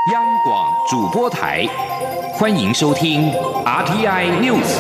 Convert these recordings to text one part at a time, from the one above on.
央广主播台，欢迎收听 RTI News。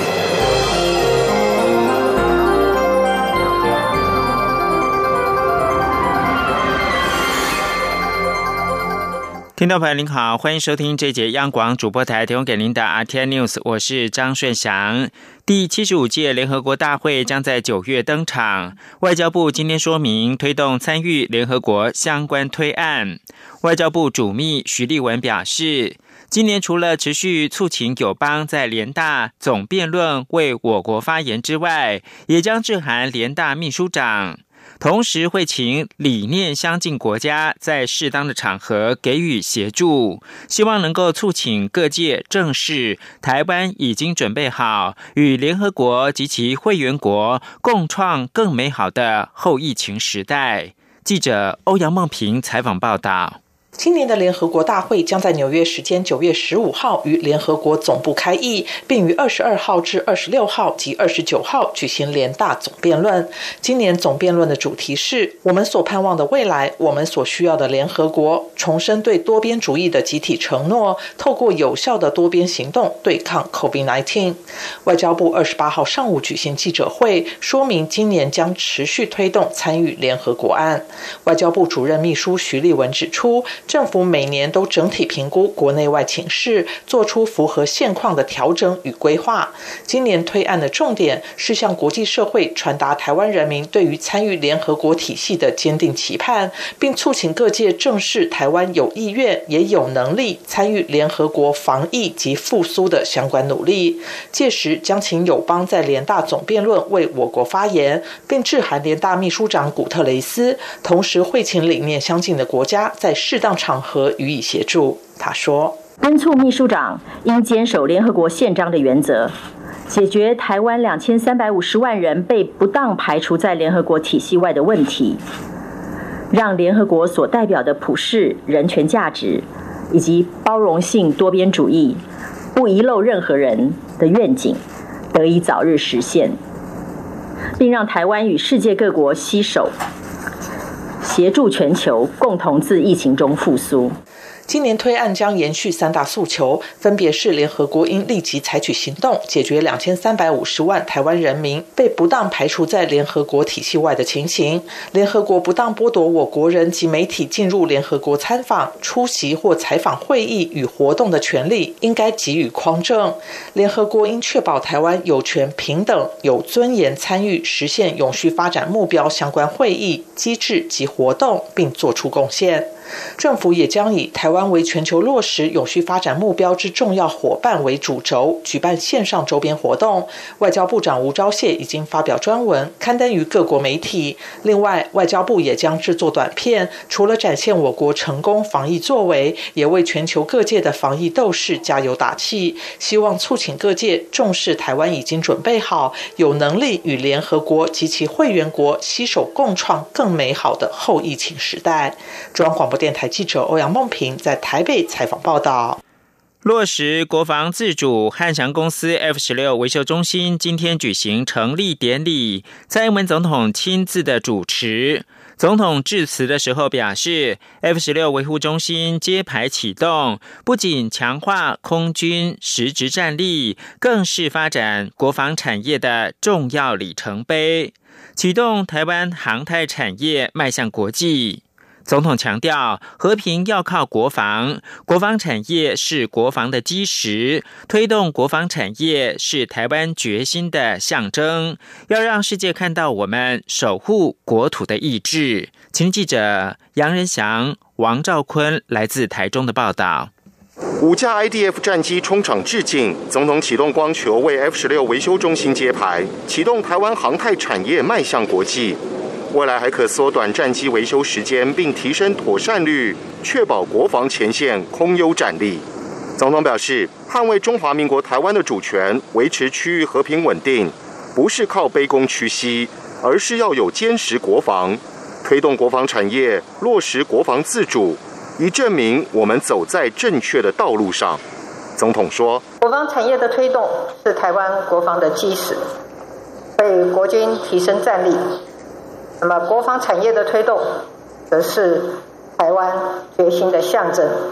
听众朋友您好，欢迎收听这节央广主播台提供给您的 RTI News， 我是张顺祥。第75届联合国大会将在9月登场，外交部今天说明推动参与联合国相关推案。外交部主秘徐立文表示，今年除了持续促请友邦在联大总辩论为我国发言之外，也将致函联大秘书长，同时会请理念相近国家在适当的场合给予协助，希望能够促请各界正视台湾已经准备好与联合国及其会员国共创更美好的后疫情时代。记者欧阳梦平采访报道。 今年的联合国大会将在纽约时间9月15号于联合国总部开议，并于22号至26号及29号举行联大总辩论。今年总辩论的主题是我们所盼望的未来，我们所需要的联合国，重申对多边主义的集体承诺，透过有效的多边行动对抗 COVID-19。 外交部28号上午举行记者会，说明今年将持续推动参与联合国案。外交部主任秘书徐立文指出，政府每年都整体评估国内外情势，做出符合现况的调整与规划。今年推案的重点是向国际社会传达台湾人民对于参与联合国体系的坚定期盼，并促请各界正视台湾有意愿也有能力参与联合国防疫及复苏的相关努力。届时将请友邦在联大总辩论为我国发言，并致函联大秘书长古特雷斯，同时会请理念相近的国家在适当场合予以协助。他说， 敦促秘书长应坚守联合国宪章的原则，解决台湾2350万人被不当排除在联合国体系外的问题，让联合国所代表的普世人权价值以及包容性多边主义不遗漏任何人的愿景得以早日实现，并让台湾与世界各国携手协助全球共同自疫情中复苏。 今年推案将延续3大诉求，分别是联合国应立即采取行动，解决2350万台湾人民被不当排除在联合国体系外的情形；联合国不当剥夺我国人及媒体进入联合国参访、出席或采访会议与活动的权利，应该给予匡正；联合国应确保台湾有权平等、有尊严参与实现永续发展目标相关会议、机制及活动，并作出贡献。政府也将以台湾为全球落实永续发展目标之重要伙伴为主轴，举办线上周边活动。外交部长吴钊燮已经发表专文刊登于各国媒体。另外，外交部也将制作短片，除了展现我国成功防疫作为，也为全球各界的防疫斗士加油打气，希望促请各界重视台湾已经准备好，有能力与联合国及其会员国携手共创更美好的后疫情时代。中央广播电台记者欧阳梦平在台北采访报道。 落实国防自主，汉翔公司 F-16 维修中心今天举行成立典礼，蔡英文总统亲自的主持。总统致辞的时候表示， F-16 维护中心揭牌启动，不仅强化空军实质战力，更是发展国防产业的重要里程碑，启动台湾航太产业迈向国际。总统强调，和平要靠国防，国防产业是国防的基石，推动国防产业是台湾决心的象征，要让世界看到我们守护国土的意志。请记者杨仁祥、王兆坤来自台中的报道。 5架 IDF 战机冲场致敬，总统启动光球为 F-16 维修中心揭牌，启动台湾航太产业迈向国际。未来还可缩短战机维修时间，并提升妥善率，确保国防前线空优战力。总统表示，捍卫中华民国台湾的主权，维持区域和平稳定，不是靠卑躬屈膝，而是要有坚实国防，推动国防产业落实国防自主，以证明我们走在正确的道路上。总统说， 国防产业的推动是台湾国防的基石，为国军提升战力。那么国防产业的推动则是台湾决心的象征，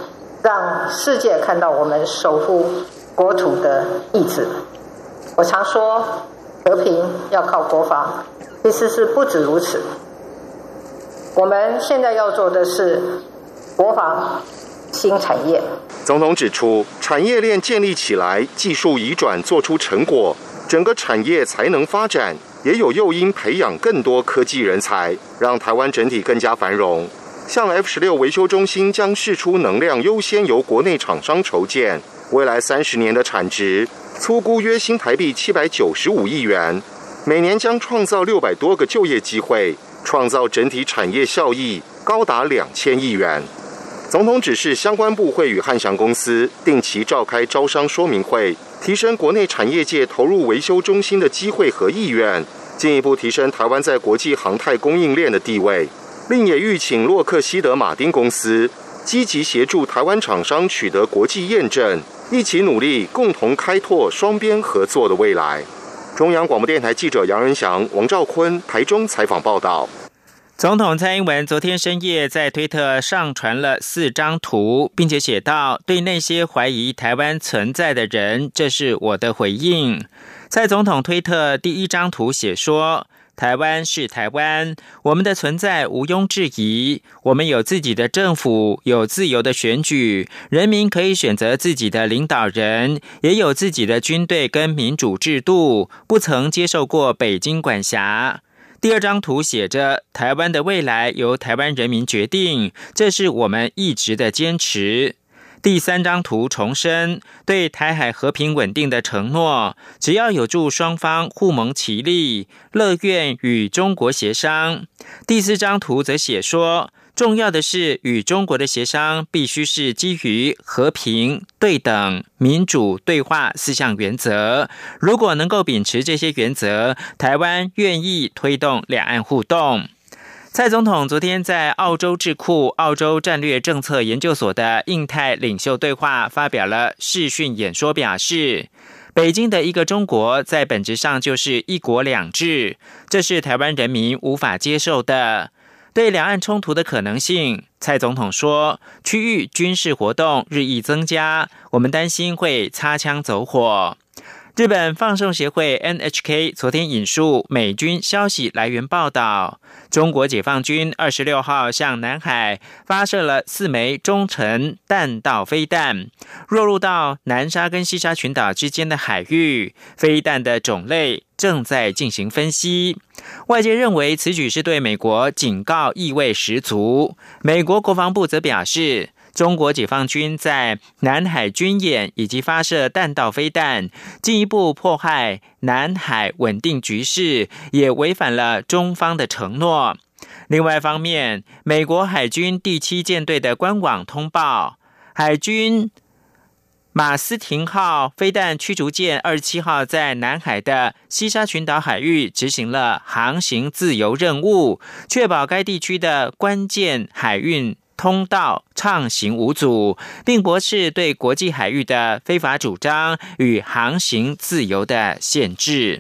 让世界看到我们守护国土的意志。我常说，和平要靠国防，其实是不止如此。我们现在要做的是国防新产业。 总统指出，产业链建立起来，技术移转做出成果，整个产业才能发展，也有诱因培养更多科技人才，让台湾整体更加繁荣。像 F-16 维修中心将释出能量优先由国内厂商筹建，未来30年的产值粗估约新台币795亿元，每年将创造600多个就业机会，创造整体产业效益高达2000亿元。总统指示相关部会与汉翔公司定期召开招商说明会，提升国内产业界投入维修中心的机会和意愿，进一步提升台湾在国际航太供应链的地位。另也预请洛克希德马丁公司积极协助台湾厂商取得国际验证，一起努力，共同开拓双边合作的未来。中央广播电台记者杨仁祥、王兆坤台中采访报道。 总统蔡英文昨天深夜在推特上传了4张图，并且写道：对那些怀疑台湾存在的人，这是我的回应。蔡总统推特第1张图写说，台湾是台湾，我们的存在毋庸置疑，我们有自己的政府，有自由的选举，人民可以选择自己的领导人，也有自己的军队跟民主制度，不曾接受过北京管辖。第2张图写着，台湾的未来由台湾人民决定，这是我们一直的坚持。第3张图重申对台海和平稳定的承诺，只要有助双方互盟其利，乐愿与中国协商。第4张图则写说，重要的是与中国的协商必须是基于和平、对等、民主、对话4项原则。如果能够秉持这些原则，台湾愿意推动两岸互动。蔡总统昨天在澳洲智库澳洲战略政策研究所的印太领袖对话发表了视讯演说，表示北京的一个中国在本质上就是一国两制，这是台湾人民无法接受的。对两岸冲突的可能性，蔡总统说，区域军事活动日益增加，我们担心会擦枪走火。日本放送协会 NHK 昨天引述美军消息来源报道，中国解放军26号向南海发射了4枚中程弹道飞弹，落入到南沙跟西沙群岛之间的海域，飞弹的种类正在进行分析。外界认为此举是对美国警告意味十足。美国国防部则表示，中国解放军在南海军演以及发射弹道飞弹，进一步迫害南海稳定局势，也违反了中方的承诺。另外一方面，美国海军第7舰队的官网通报，海军马斯廷号飞弹驱逐舰27号在南海的西沙群岛海域执行了航行自由任务，确保该地区的关键海运通道畅行无阻，并驳斥对国际海域的非法主张与航行自由的限制。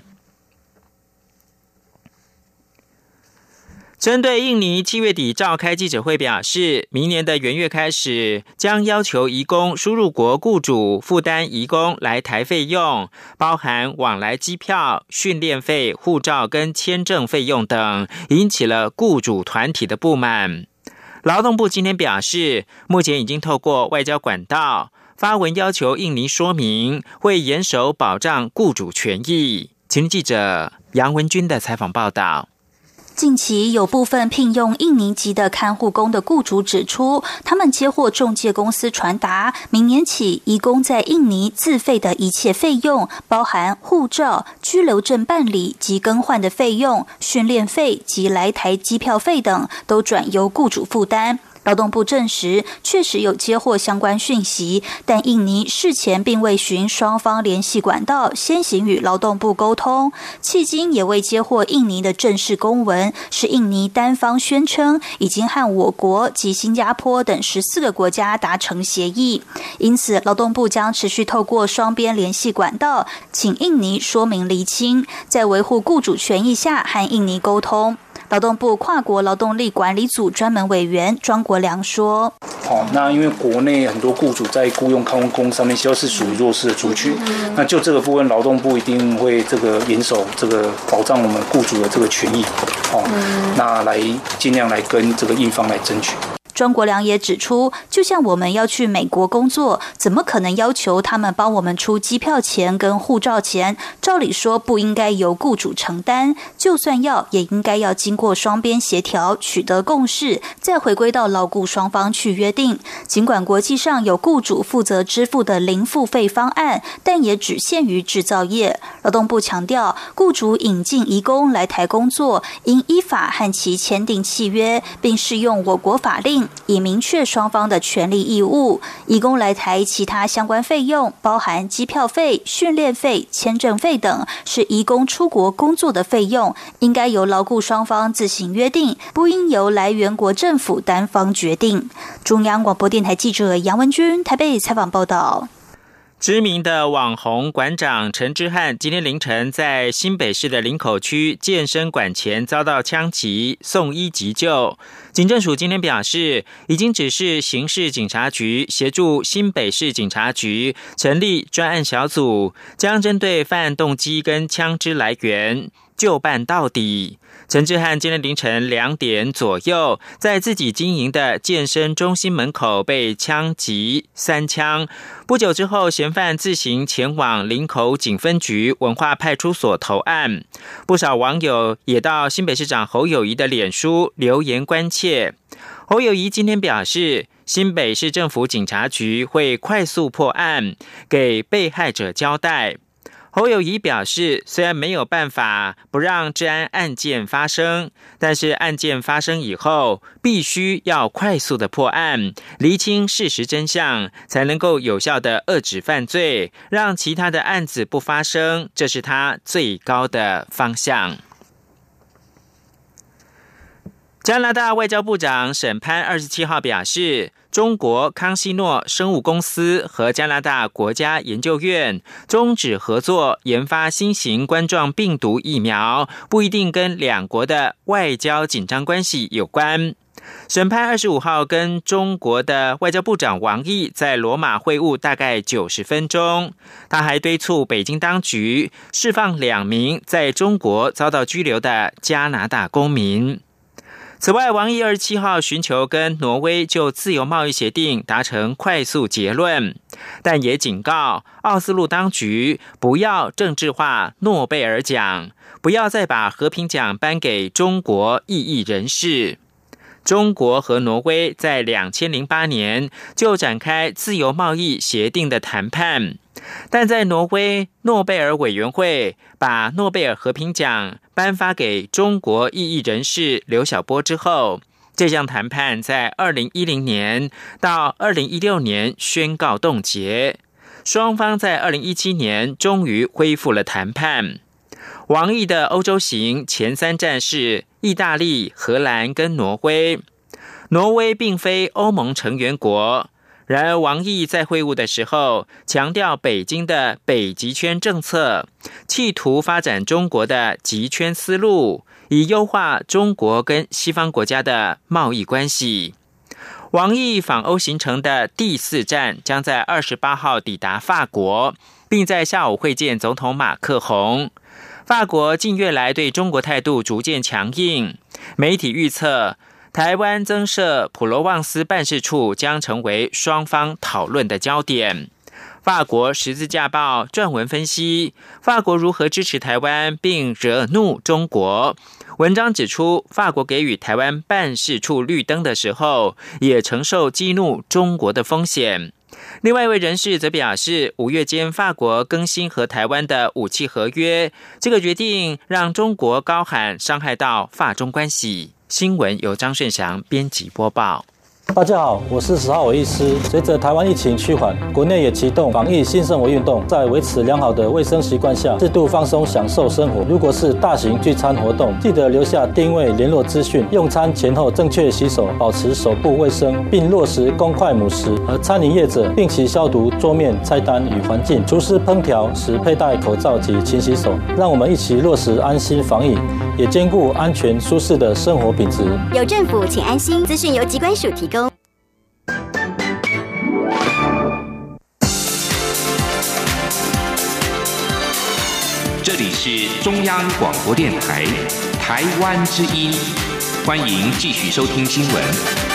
针对印尼7月底召开记者会表示，明年的元月开始将要求移工输入国雇主负担移工来台费用，包含往来机票、训练费、护照跟签证费用等，引起了雇主团体的不满。劳动部今天表示，目前已经透过外交管道发文要求印尼说明，会严守保障雇主权益。前天记者杨文君的采访报道。 近期有部分聘用印尼籍的看护工的雇主指出，他们接获仲介公司传达，明年起移工在印尼自费的一切费用，包含护照、居留证办理及更换的费用、训练费及来台机票费等，都转由雇主负担。劳动部证实，确实有接获相关讯息，但印尼事前并未循双方联系管道先行与劳动部沟通，迄今也未接获印尼的正式公文，是印尼单方宣称已经和我国及新加坡等14个国家达成协议，因此劳动部将持续透过双边联系管道，请印尼说明厘清，在维护雇主权益下和印尼沟通。 劳动部跨国劳动力管理组专门委员庄国良说： 那因为国内很多雇主在雇用看护工上面，都是属于弱势的族群，那就这个部分，劳动部一定会这个严守这个保障我们雇主的这个权益，那来尽量来跟这个印方来争取。 庄国良也指出，就像我们要去美国工作，怎么可能要求他们帮我们出机票钱跟护照钱？照理说不应该由雇主承担，就算要，也应该要经过双边协调，取得共识，再回归到劳雇双方去约定。尽管国际上有雇主负责支付的零付费方案，但也只限于制造业。劳动部强调，雇主引进移工来台工作，应依法和其签订契约，并适用我国法令，以明确双方的权利义务。移工来台其他相关费用，包含机票费、训练费、签证费等，是移工出国工作的费用，应该由劳雇双方自行约定，不应由来源国政府单方决定。中央广播电台记者杨文君台北采访报道。 知名的网红馆长陈之汉今天凌晨在新北市的林口区健身馆前遭到枪击，送医急救。警政署今天表示，已经指示刑事警察局协助新北市警察局成立专案小组，将针对犯案动机跟枪支来源就办到底。陈之汉今天凌晨2点左右，在自己经营的健身中心门口被枪击3枪。不久之后，嫌犯自行前往林口警分局文化派出所投案。不少网友也到新北市长侯友宜的脸书留言关切。侯友宜今天表示，新北市政府警察局会快速破案，给被害者交代。侯友宜表示，虽然没有办法不让治安案件发生，但是案件发生以后，必须要快速的破案，厘清事实真相，才能够有效的遏止犯罪，让其他的案子不发生，这是他最高的方向。加拿大外交部长沈潘27号表示，中国康希诺生物公司和加拿大国家研究院终止合作研发新型冠状病毒疫苗，不一定跟两国的外交紧张关系有关。沈潘25号跟中国的外交部长王毅在罗马会晤大概90分钟，他还敦促北京当局释放2名在中国遭到拘留的加拿大公民。此外，王毅27号寻求跟挪威就自由贸易协定达成快速结论，但也警告奥斯陆当局不要政治化诺贝尔奖，不要再把和平奖颁给中国异议人士。中国和挪威在2008年就展开自由贸易协定的谈判，但在挪威诺贝尔委员会把诺贝尔和平奖颁发给中国异议人士刘晓波之后，这项谈判在2010年到2016年宣告冻结，双方在2017年终于恢复了谈判。王毅的欧洲行前3站是意大利、荷兰跟挪威。挪威并非欧盟成员国，然而王毅在会晤的时候强调北京的北极圈政策，企图发展中国的极圈思路，以优化中国跟西方国家的贸易关系。王毅访欧行程的第4站将在28号抵达法国，并在下午会见总统马克宏。法国近月来对中国态度逐渐强硬，媒体预测台湾增设普罗旺斯办事处将成为双方讨论的焦点。法国十字架报撰文分析法国如何支持台湾并惹怒中国。文章指出，法国给予台湾办事处绿灯的时候，也承受激怒中国的风险。另外一位人士则表示，5月间法国更新和台湾的武器合约，这个决定让中国高喊伤害到法中关系。新闻由张顺祥编辑播报。 大家好，我是10号医师。随着台湾疫情趋缓，国内也启动防疫新生活运动，在维持良好的卫生习惯下，适度放松享受生活。如果是大型聚餐活动，记得留下定位联络资讯，用餐前后正确洗手，保持手部卫生，并落实公筷母食。而餐饮业者定期消毒桌面、菜单与环境，厨师烹调时佩戴口罩及勤洗手。让我们一起落实安心防疫，也兼顾安全舒适的生活品质。 有政府，请安心。资讯由疾管署提供。 这里是中央广播电台台湾之音，欢迎继续收听新闻。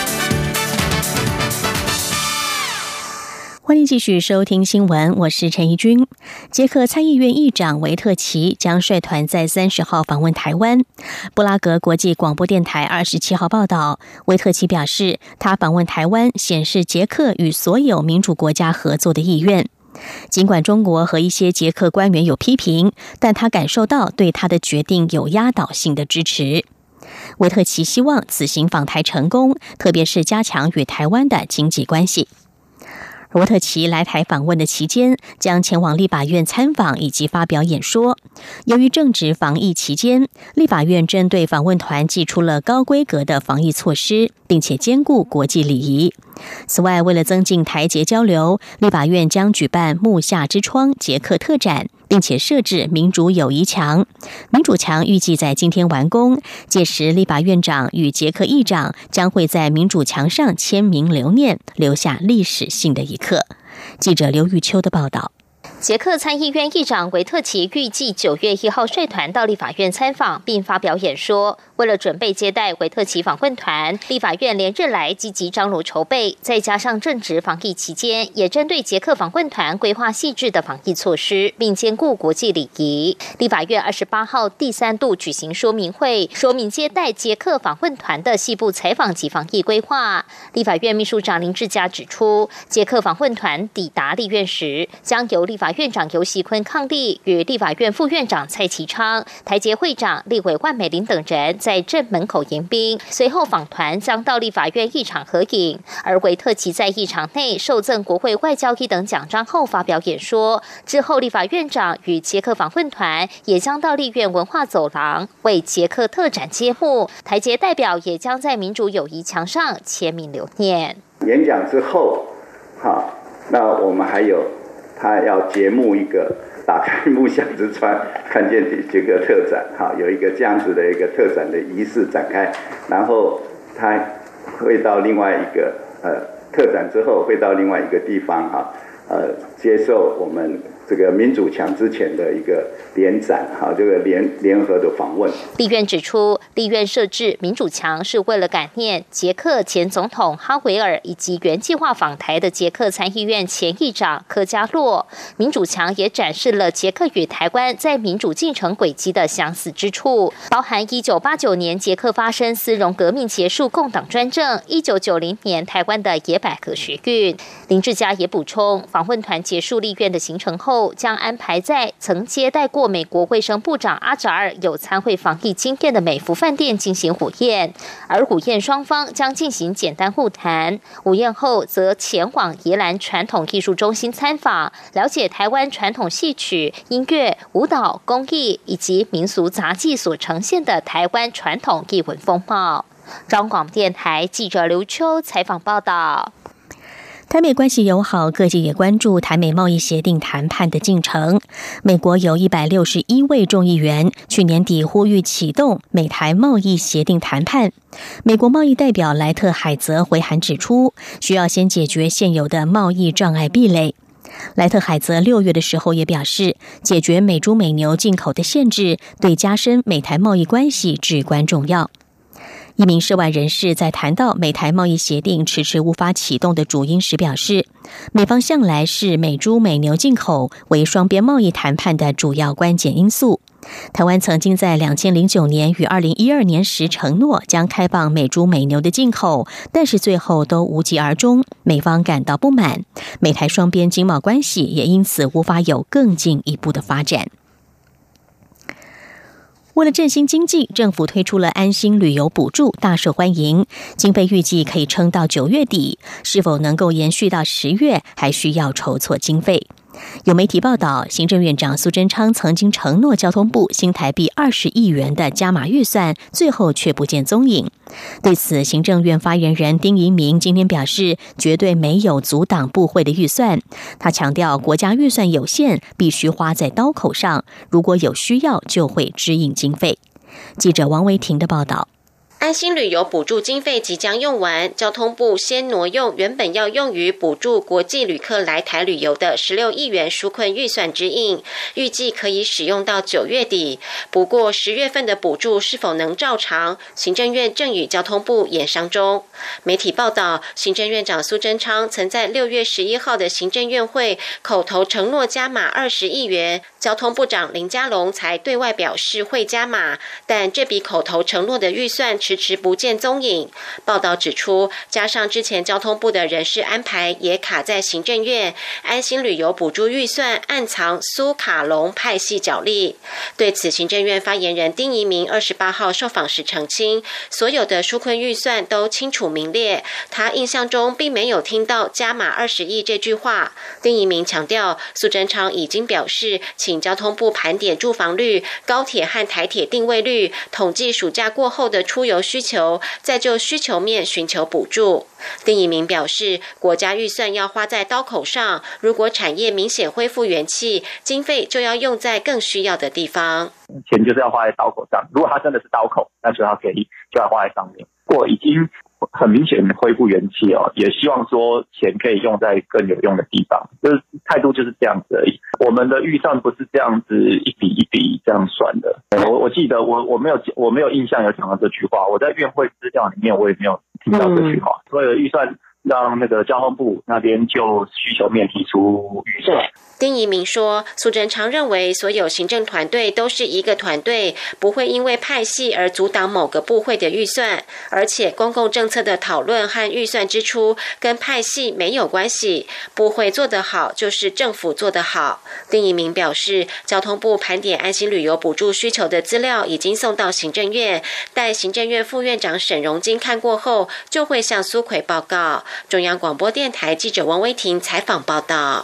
欢迎继续收听新闻，我是陈怡君。捷克参议院议长维特奇将率团在30号访问台湾。布拉格国际广播电台27号报道，维特奇表示，他访问台湾显示捷克与所有民主国家合作的意愿。尽管中国和一些捷克官员有批评，但他感受到对他的决定有压倒性的支持。维特奇希望此行访台成功，特别是加强与台湾的经济关系。维特奇来台访问的期间，将前往立法院参访以及发表演说。由于正值防疫期间，立法院针对访问团祭出了高规格的防疫措施，并且兼顾国际礼仪。此外，为了增进台捷交流，立法院将举办木下之窗捷克特展，并且设置民主友谊墙。民主墙预计在今天完工，届时立法院长与捷克议长将会在民主墙上签名留念，留下历史性的一刻。记者刘玉秋的报道。 捷克参议院议长维特奇预计9月1号率团到立法院参访，并发表演说。为了准备接待维特奇访问团，立法院连日来积极张罗筹备，再加上正值防疫期间，也针对捷克访问团规划细致的防疫措施，并兼顾国际礼仪。立法院28号第3度举行说明会，说明接待捷克访问团的细部采访及防疫规划。立法院秘书长林志嘉指出，捷克访问团抵达立院时，将由立法院长游锡堃伉俪与立法院副院长蔡其昌、台捷会长立委万美玲等人在正门口迎宾，随后访团将到立法院议场合影。而维特奇在议场内受赠国会外交1等奖章后发表演说，之后立法院长与捷克访问团也将到立院文化走廊为捷克特展揭幕，台捷代表也将在民主友谊墙上签名留念。 演讲之后，那我们还有他要揭幕一个打开木下之窗看见捷克特展，有一个这样子的一个特展的仪式展开，然后他会到另外一个特展之后会到另外一个地方接受我们这个民主墙之前的一个联展，这个联合的访问。 立院指出，立院设置民主墙是为了感念捷克前总统哈维尔以及原计划访台的捷克参议院前议长科加洛。民主墙也展示了捷克与台湾在民主进程轨迹的相似之处，包含1989年捷克发生丝绒革命结束共党专政，1990年台湾的野百合学运。林志嘉也补充，访问团结束立院的行程后，将安排在曾接待过美国卫生部长阿扎尔有参会防疫经验的美孚饭店进行午宴，而午宴双方将进行简单互谈。午宴后则前往宜兰传统艺术中心参访，了解台湾传统戏曲、音乐、舞蹈、工艺以及民俗杂技所呈现的台湾传统艺文风貌。中广电台记者刘秋采访报道。 台美关系友好，各界也关注台美贸易协定谈判的进程。美国有161位众议员去年底呼吁启动美台贸易协定谈判。美国贸易代表莱特海泽回函指出，需要先解决现有的贸易障碍壁垒。莱特海泽6月的时候也表示，解决美猪美牛进口的限制，对加深美台贸易关系至关重要。一名涉外人士在谈到美台贸易协定迟迟无法启动的主因时表示，美方向来是美猪美牛进口为双边贸易谈判的主要关键因素。台湾曾经在2009年与2012年时承诺将开放美猪美牛的进口，但是最后都无疾而终，美方感到不满，美台双边经贸关系也因此无法有更进一步的发展。 为了振兴经济，政府推出了安心旅游补助，大受欢迎。经费预计可以撑到9月底，是否能够延续到10月，还需要筹措经费。有媒体报道，行政院长苏贞昌曾经承诺交通部新台币20亿元的加码预算，最后却不见踪影。对此，行政院发言人丁怡明今天表示，绝对没有阻挡部会的预算。他强调，国家预算有限，必须花在刀口上，如果有需要，就会支应经费。记者王维婷的报道。 安心旅游补助经费即将用完，交通部先挪用原本要用于补助国际旅客来台旅游的16亿元纾困预算支应，预计可以使用到9月底。不过10月份的补助是否能照常，行政院正与交通部研商中。媒体报道，行政院长苏贞昌曾在6月11号的行政院会口头承诺加码20亿元，交通部长林佳龙才对外表示会加码，但这笔口头承诺的预算迟迟不见踪影。报道指出，加上之前交通部的人事安排也卡在行政院，安心旅游补助预算暗藏苏卡龙派系角力。对此，行政院发言人丁怡明28号受访时澄清，所有的纾困预算都清楚明列，他印象中并没有听到加码20亿这句话。丁怡明强调，苏贞昌已经表示，请交通部盘点住房率、高铁和台铁定位率，统计暑假过后的出游需求，再就需求面寻求补助。丁怡明表示，国家预算要花在刀口上，如果产业明显恢复元气，经费就要用在更需要的地方。 钱就是要花在刀口上，如果它真的是刀口，那就要花在上面。如果已经很明显恢复元气也希望说钱可以用在更有用的地方，就是态度就是这样子而已。我们的预算不是这样子一笔一笔这样算的。我记得我没有印象有讲到这句话，我在院会资料里面我也没有听到这句话。所有的预算让那个交通部那边就需求面提出预算。 丁怡明说，苏贞昌认为所有行政团队都是一个团队，不会因为派系而阻挡某个部会的预算，而且公共政策的讨论和预算支出跟派系没有关系，部会做得好就是政府做得好。丁怡明表示，交通部盘点安心旅游补助需求的资料已经送到行政院，待行政院副院长沈荣金看过后，就会向苏揆报告。中央广播电台记者王威婷采访报道。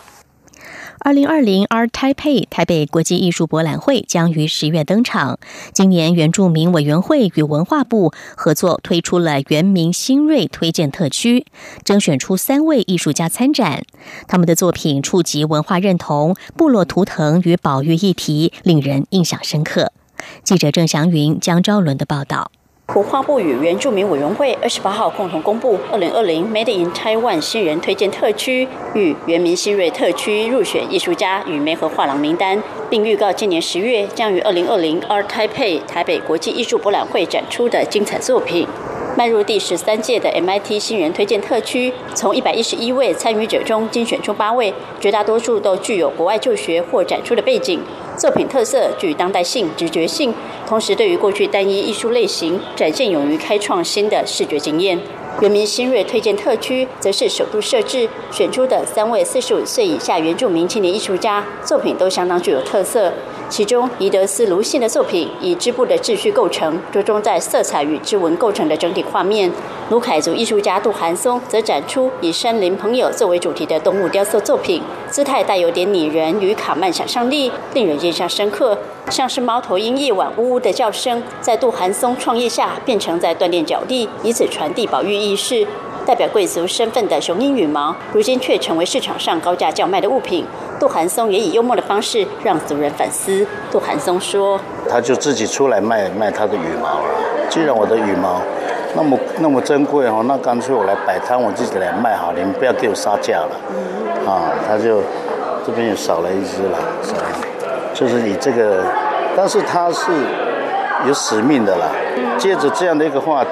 2020 Art Taipei 台北国际艺术博览会将于10月登场。今年原住民委员会与文化部合作推出了原民新锐推荐特区，征选出3位艺术家参展。他们的作品触及文化认同、部落图腾与保育议题，令人印象深刻。记者郑祥云、江昭伦的报道。 文化部与原住民委员会28号共同公布2020 Made in Taiwan 新人推荐特区与原民新锐特区入选艺术家与媒合画廊名单，并预告今年10月将于2020 Art Taipei 台北国际艺术博览会展出的精彩作品。迈入第13届的 MIT 新人推荐特区，从111位参与者中精选出8位，绝大多数都具有国外就学或展出的背景。作品特色具当代性、直觉性，同时对于过去单一艺术类型展现勇于开创新的视觉经验。原民新锐推荐特区则是首度设置，选出的3位45岁以下原住民青年艺术家，作品都相当具有特色。其中，宜德斯卢信的作品以织布的秩序构成，着重在色彩与织纹构成的整体画面。卢凯族艺术家杜寒松则展出以山林朋友作为主题的动物雕塑作品，姿态带有点拟人与卡曼想象力，令人印象深刻。像是猫头鹰夜晚呜呜的叫声，在杜寒松创意下变成在锻炼脚力，以此传递保育意识。代表贵族身份的雄鹰羽毛，如今却成为市场上高价叫卖的物品。杜寒松也以幽默的方式让族人反思。杜寒松说：“ 他就自己出来卖他的羽毛了。既然我的羽毛那么珍贵哦，那干脆我来摆摊，我自己来卖好，你们不要给我杀价了。他就这边也少了一只了，就是以这个，但是他是有使命的啦。借着这样的一个话题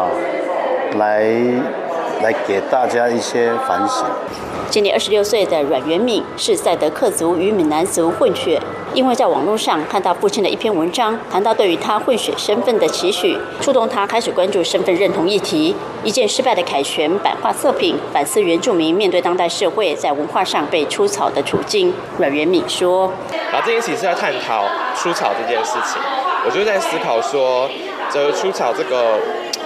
来给大家一些反省。 今年26岁的阮元敏是赛德克族与闽南族混血，因为在网络上看到父亲的一篇文章，谈到对于他混血身份的期许，触动他开始关注身份认同议题。一件失败的凯旋版画作品，反思原住民面对当代社会在文化上被出草的处境。阮元敏说：“ 这件事情是在探讨出草这件事情。 我就在思考说，这出草这个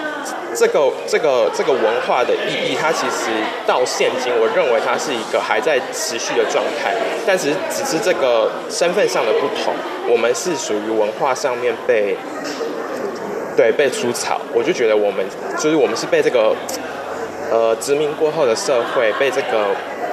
文化的意义，它其实到现今，我认为它是一个还在持续的状态，但只是这个身份上的不同，我们是属于文化上面被出草，我就觉得我们是被这个殖民过后的社会被这个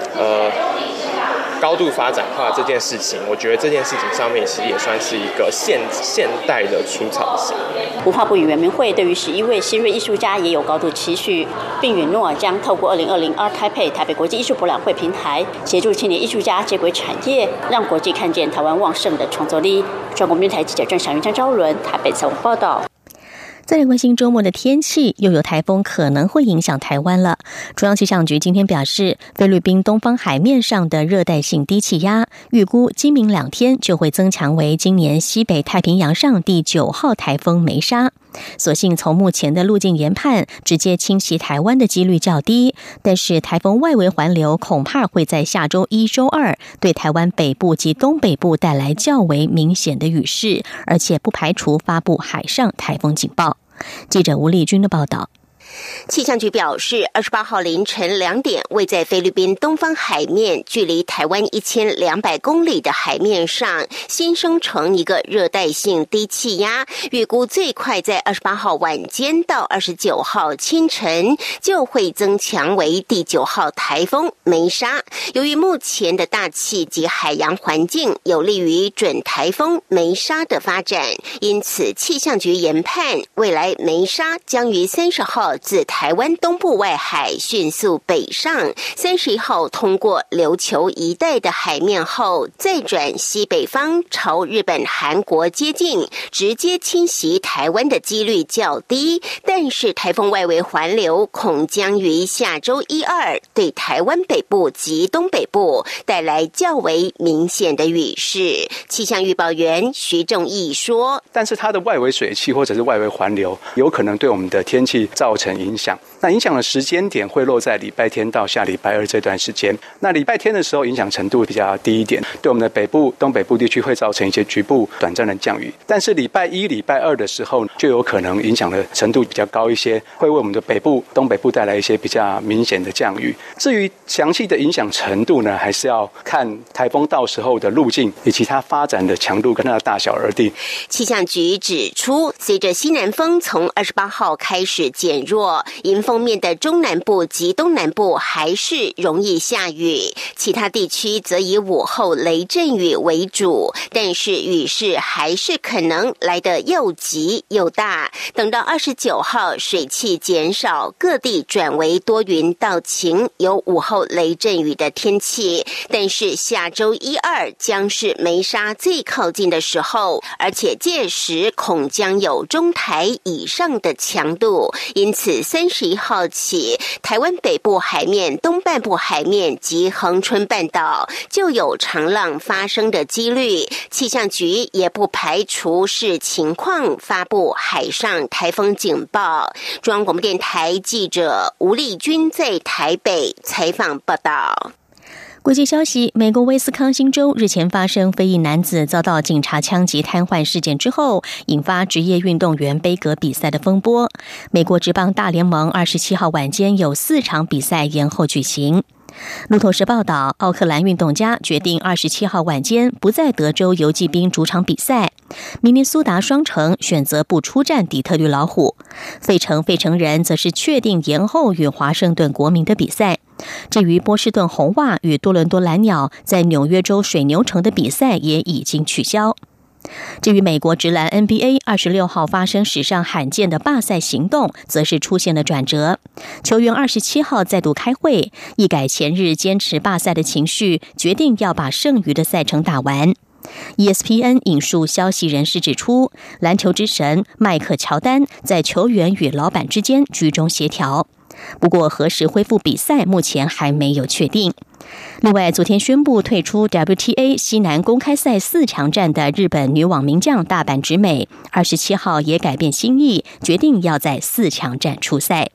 高度发展化这件事情，我觉得这件事情上面其实也算是一个现代的出草型。 文化部与原民会对于11位新锐艺术家也有高度期许，并允诺将透过2020 Art Taipei 台北国际艺术博览会平台，协助青年艺术家接轨产业，让国际看见台湾旺盛的创作力。中国电台记者郑祥云、张昭伦台北采访报道。 再来关心周末的天气，又有台风可能会影响台湾了。中央气象局今天表示，菲律宾东方海面上的热带性低气压，预估今明2天就会增强为今年西北太平洋上第9号台风梅莎。所幸从目前的路径研判，直接侵袭台湾的几率较低，但是台风外围环流恐怕会在下周1、周2对台湾北部及东北部带来较为明显的雨势，而且不排除发布海上台风警报。记者吴丽君的报道。 气象局表示，28号凌晨2点，位在菲律宾东方海面，距离台湾1200公里的海面上，新生成一个热带性低气压，预估最快在28号晚间到29号清晨就会增强为第9号台风梅莎。由于目前的大气及海洋环境有利于准台风梅莎的发展，因此气象局研判，未来梅莎将于30号自台湾东部外海迅速北上，31号通过琉球一带的海面后，再转西北方朝日本、韩国接近，直接侵袭台湾的几率较低。但是台风外围环流恐将于下周1、2对台湾北部及东北部带来较为明显的雨势。气象预报员徐仲义说， 但是它的外围水汽或者是外围环流有可能对我们的天气造成影响，那影响的时间点会落在礼拜天到下礼拜2这段时间。那礼拜天的时候影响程度比较低一点，对我们的北部、东北部地区会造成一些局部短暂的降雨。但是礼拜1、礼拜2的时候，就有可能影响的程度比较高一些，会为我们的北部、东北部带来一些比较明显的降雨。至于详细的影响程度呢，还是要看台风到时候的路径以及它发展的强度跟它的大小而定。 气象局指出，随着西南风从28号开始减弱，迎风面的中南部及东南部还是容易下雨，其他地区则以午后雷阵雨为主，但是雨势还是可能来得又急又大。等到29号水汽减少，各地转为多云到晴，有午后雷阵雨的天气。但是下周1、2将是梅莎最靠近的时候，而且届时恐将有中台以上的强度，因此31号起，台湾北部海面、东半部海面及恒春半岛就有长浪发生的几率。气象局也不排除视情况发布海上台风警报。中央广播电台记者吴丽君在台北采访报道。 国际消息，美国威斯康星州日前发生非裔男子遭到警察枪击瘫痪事件之后，引发职业运动员杯葛比赛的风波。美国职棒大联盟27号晚间有4场比赛延后举行。路透社报道，奥克兰运动家决定27号晚间不在德州游骑兵主场比赛，明尼苏达双城选择不出战底特律老虎，费城人则是确定延后与华盛顿国民的比赛。至于波士顿红袜与多伦多蓝鸟在纽约州水牛城的比赛也已经取消。至于美国职篮 NBA 26号发生史上罕见的罢赛行动，则是出现了转折。球员27号再度开会，一改前日坚持罢赛的情绪，决定要把剩余的赛程打完。ESPN 引述消息人士指出，篮球之神麦克乔丹在球员与老板之间居中协调。不过何时恢复比赛目前还没有确定。另外，昨天宣布退出 WTA 西南公开赛4强战的日本女网名将大阪直美27号也改变心意，决定要在4强战出赛。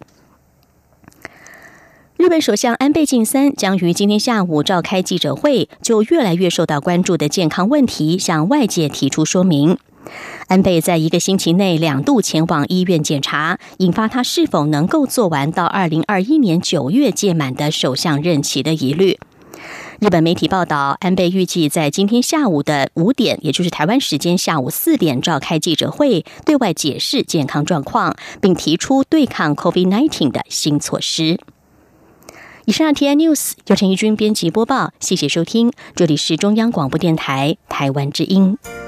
日本首相安倍晋三将于今天下午召开记者会，就越来越受到关注的健康问题向外界提出说明。 安倍在1个星期内2度前往医院检查，引发他是否能够做完到2021年9月届满的首相任期的疑虑。日本媒体报道，安倍预计在今天下午的5点，也就是台湾时间下午4点召开记者会，对外解释健康状况，并提出对抗 COVID-19 的新措施。以上 TN News 由陈怡君编辑播报，谢谢收听，这里是中央广播电台台湾之音。